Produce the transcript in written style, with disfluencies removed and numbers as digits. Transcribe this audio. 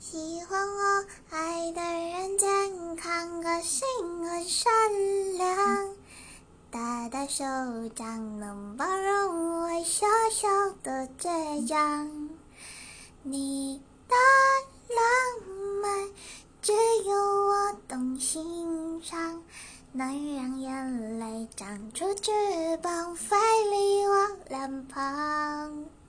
喜欢我爱的人健康，个性很善良，大大手掌能包容我小小的倔强。你的浪漫只有我懂欣赏，能让眼泪长出翅膀，飞离我脸庞。